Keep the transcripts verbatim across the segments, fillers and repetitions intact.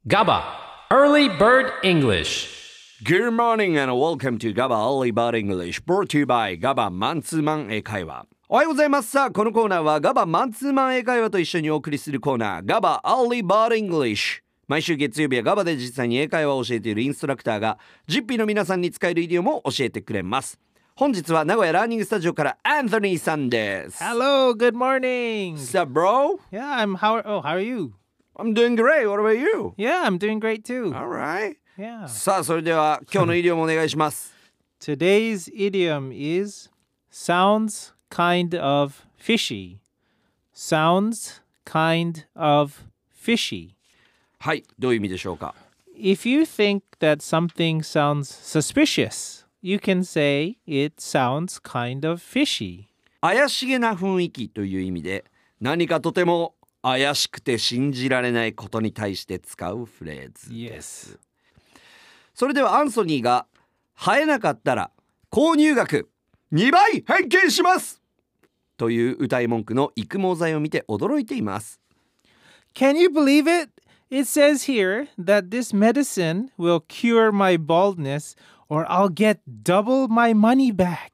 GABA Early Bird English. Good morning and welcome to GABA Early Bird English brought to you by GABA マンツーマン英会話。おはようございます。さあこのコーナーは GABA マンツーマン英会話と一緒にお送りするコーナー GABA Early Bird English。毎週月曜日は ガバ で実際に英会話を教えているインストラクターが ジッピー の皆さんに使えるイディオムを教えてくれます。本日は名古屋ラーニングスタジオからアンソニーさんです。 Hello, good morning. What's up, bro? Yeah, I'm how oh, how are you? I'm doing great. What about you? Yeah, I'm doing great too. Alright. Yeah. さあそれでは今日のイディオムお願いします。 Today's idiom is sounds kind of fishy. Sounds kind of fishy. はい、どういう意味でしょうか。 If you think that something sounds suspicious, you can say it sounds kind of fishy. 怪しげな雰囲気という意味で、何かとても怪しくて信じられないことに対して使うフレーズです。 Yes. それではアンソニーが生えなかったら購入額にばい返金しますという歌い文句の育毛剤を見て驚いています。 Can you believe it? It says here that this medicine will cure my baldness or I'll get double my money back.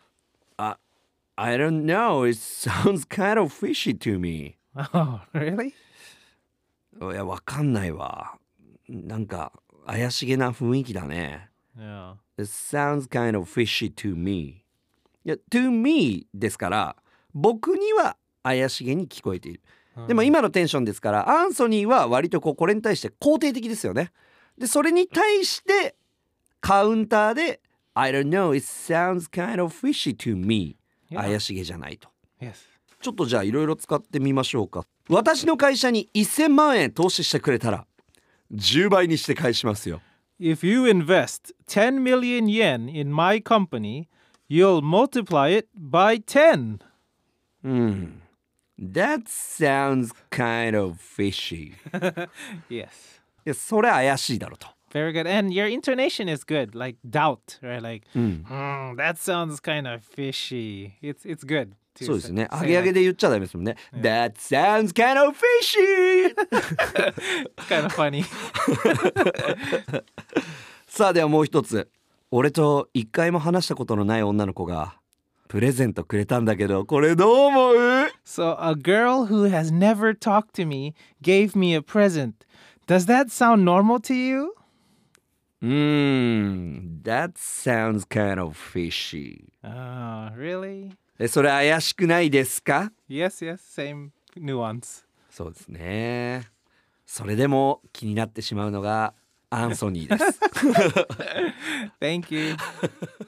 I don't know, it sounds kind of fishy to me. Oh, really? いや、わかんないわ。なんか怪しげな雰囲気だね。 Yeah. It sounds kind of fishy to me. いや、to me ですから僕には怪しげに聞こえている。でも今のテンションですからアンソニーは割とこうこれに対して肯定的ですよね。でそれに対してカウンターで I don't know, it sounds kind of fishy to me、 Yeah. 怪しげじゃないと。 Yes. ちょっとじゃあいろいろ使ってみましょうか。私の会社にせんまんえん投資してくれたらじゅうばいにして返しますよ。 If you invest ten million yen in my company, you'll multiply it by ten. うん、That sounds kind of fishy. Yes. いやそれ怪しいだろと。 Very good. And your intonation is good, like doubt, right? Like, "Hmm, that sounds kind of fishy." It's it's good. to そうですね。 say 上げ上げ like- で言っちゃダメですもんね。That sounds kind of fishy. It's kind of funny. さあではもう一つ。俺と一回も話したことのない女の子がプレゼントくれたんだけど、これどう思う？ So a girl who has never talked to me gave me a present. Does that sound normal to you? うーん、That sounds kind of fishy. Oh, really? え、それ怪しくないですか？ Yes, yes, same nuance. そうですね。それでも気になってしまうのがアンソニーです。 Thank you.